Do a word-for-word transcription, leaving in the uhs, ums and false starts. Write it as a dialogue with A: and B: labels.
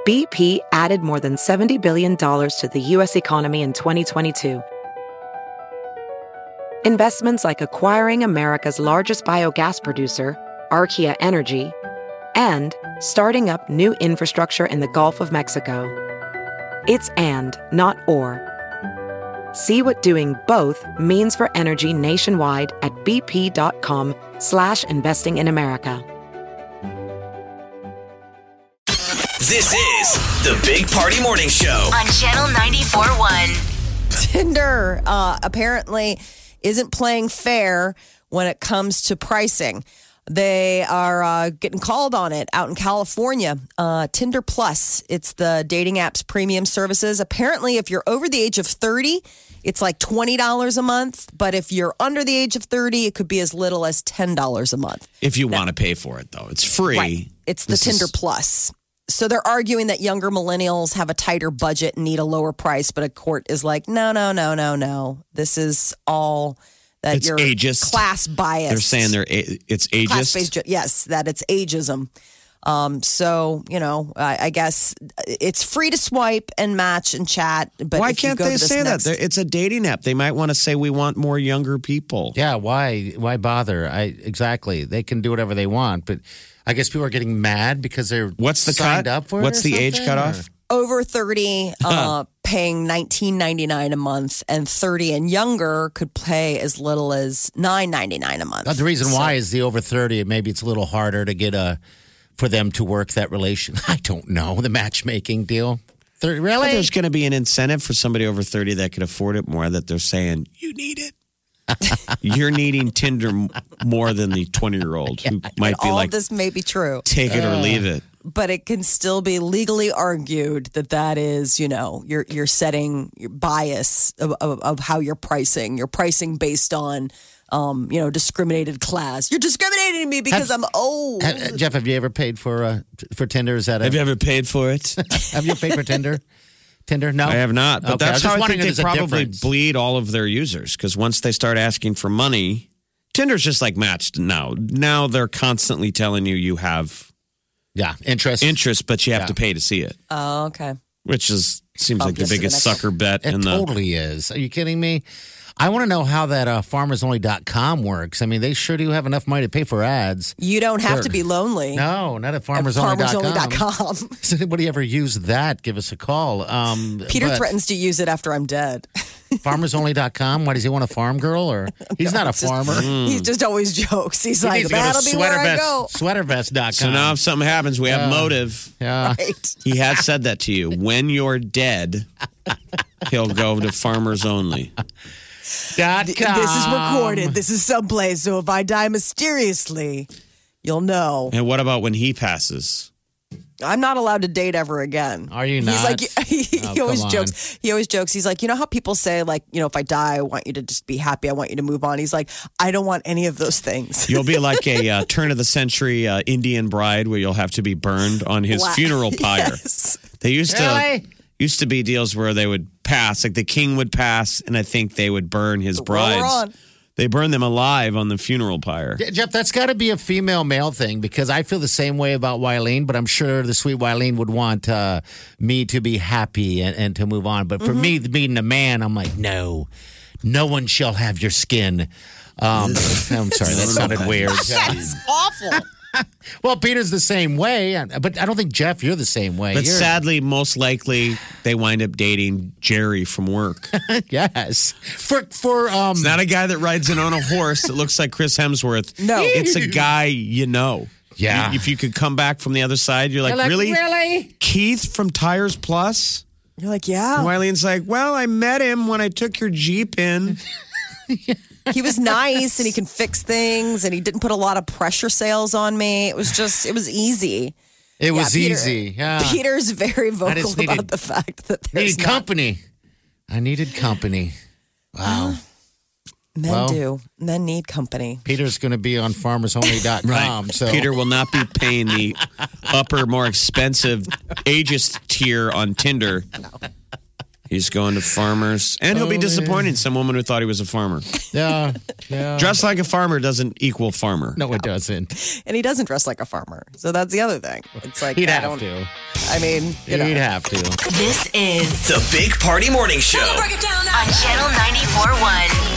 A: B P added more than seventy billion dollars to the U S economy in twenty twenty-two. Investments like acquiring America's largest biogas producer, Archaea Energy, and starting up new infrastructure in the Gulf of Mexico. It's and, not or. See what doing both means for energy nationwide at bp.com slash investing in America.
B: This is the Big Party Morning Show
C: on Channel ninety-four point one.
D: Tinder uh, apparently isn't playing fair when it comes to pricing. They are uh, getting called on it out in California. Uh, Tinder Plus, it's the dating app's premium services. Apparently, if you're over the age of thirty, it's like twenty dollars a month. But if you're under the age of thirty, it could be as little as ten dollars a month.
E: If you now, want to pay for it, though. It's free.
D: Right. It's the
E: this
D: Tinder
E: is-
D: Plus. So they're arguing that younger millennials have a tighter budget and need a lower price, but a court is like, no, no, no, no, no. This is all that
E: it's
D: you're
E: ageist.
D: class biased.
E: They're saying they're a- it's ageist.
D: Class-based, yes, that it's ageism. Um, so, you know, I, I guess it's free to swipe and match and chat. But
E: why
D: if you
E: can't
D: go
E: they
D: to this
E: say
D: next-
E: that? They're, it's a dating app. They might want to say we want more younger people.
F: Yeah, why? Why bother? I exactly. They can do whatever they want, but I guess people are getting mad because they're
E: What's the
F: signed
E: cut?
F: up for
E: What's
F: it or
E: the age
F: something,
E: cutoff?
D: Over thirty, uh, paying nineteen ninety-nine a month, and thirty and younger could pay as little as nine ninety-nine a month.
F: But the reason
D: So-
F: why is the over thirty. Maybe it's a little harder to get a for them to work that relation. I don't know the matchmaking deal. thirty, really?
E: But there's going to be an incentive for somebody over thirty that could afford it more. That they're saying you need it. You're needing Tinder m- more than the twenty-year-old who might be
D: all
E: like,
D: this may be true,
E: take it or leave it.
D: but it can still be legally argued that that is, you know, you're you're setting your bias of, of, of how you're pricing. You're pricing based on, um, you know, discriminated class. You're discriminating me because
F: Have-
D: I'm old.
F: Ha- Jeff, have you ever paid for uh, for Tinder? Is that a,
E: Have you ever paid for it?
F: have you paid for Tinder? Tinder? No,
E: I have not. But
F: Okay, I
E: that's
F: was
E: how
F: just
E: I
F: wondering
E: think
F: if
E: they
F: there's a
E: probably
F: difference.
E: bleed all of their users. Because once they start asking for money, Tinder's just like matched now. Now they're constantly telling you you have
F: Yeah, interest.
E: interest, but you have
F: Yeah.
E: to pay to see it.
D: Oh, okay.
E: Which is seems
D: Oh,
E: like the
D: yes, to the
E: biggest
D: next
E: sucker bet
F: It
E: in the.
F: totally is. Are you kidding me? I want to know how that uh, farmers only dot com works. I mean, they sure do have enough money to pay for ads.
D: You don't have
F: Sure.
D: to be lonely.
F: No, not at
D: At
F: farmers only dot com.
D: farmers only dot com.
F: Does anybody ever use that? Give us a call. Um,
D: Peter
F: but
D: threatens to use it after I'm dead.
F: farmers only dot com. Why does he want a farm girl? Or he's not a
D: It's just-
F: farmer.
D: He just always jokes. He's
F: He
D: like,
F: needs to go to
D: that'll be where I go.
F: sweater vest dot com.
E: So now if something happens, we have
F: Yeah.
E: motive.
F: yeah.
D: Right.
E: He has said that to you. When you're dead, he'll go to farmers only.
F: Dot com.
D: This is recorded. This is someplace. So if I die mysteriously, you'll know.
E: And what about when he passes?
D: I'm not allowed to date ever again.
F: Are you
D: He's
F: not?
D: like, he,
F: Oh,
D: he always
F: come on.
D: jokes. He always jokes. He's like, you know how people say, like, you know, if I die, I want you to just be happy. I want you to move on. He's like, I don't want any of those things.
E: You'll be like a uh, turn of the century uh, Indian bride where you'll have to be burned on his
D: Wow.
E: funeral pyre.
D: Yes.
E: They used to
F: Really?
E: used to be deals where they would pass, like the king would pass, and I think they would burn his
D: Roll
E: brides.
D: on.
E: They burn them alive on the funeral pyre.
F: Yeah, Jeff, that's got to be a female male thing because I feel the same way about Wileen, but I'm sure the sweet Wileen would want uh, me to be happy and, and to move on. But for me, being a man, I'm like, no, no one shall have your skin. Um, I'm sorry, that sounded weird.
D: That's awful.
F: Well, Peter's the same way, but I don't think, Jeff, you're the same way.
E: But
F: You're-
E: sadly, most likely they wind up dating Jerry from work.
F: yes. For, for, um,
E: It's not a guy that rides in on a horse that looks like Chris Hemsworth.
D: No.
E: It's a guy you know.
F: Yeah.
E: You- if you could come back from the other side, you're like,
F: You're like,
E: really?
F: really?
E: Keith from Tires Plus?
D: You're like, yeah.
E: And Wileen's like, well, I met him when I took your Jeep in.
D: He was nice and he can fix things and he didn't put a lot of pressure sales on me. It was just, it was easy.
F: It was
D: Yeah, Peter-
F: easy. Yeah.
D: Peter's very vocal
F: just needed-
D: about the fact that there's
F: Needed
D: not,
F: company. I needed company. Wow.
D: men
F: well-
D: do. Men need company.
F: Peter's going to be on farmers only dot com. So
E: Peter will not be paying the upper, more expensive ageist tier on Tinder. He's going to farmers. And he'll be disappointing some woman who thought he was a farmer.
F: Yeah. Yeah.
E: Dressed like a farmer doesn't equal farmer.
F: No, it doesn't.
D: And he doesn't dress like a farmer. So that's the other thing. It's like,
F: He'd
D: I
F: have
D: don't,
F: to.
D: I mean, you know.
F: You'd have to.
C: This is
B: The Big Party Morning Show.
C: on Channel ninety-four point one.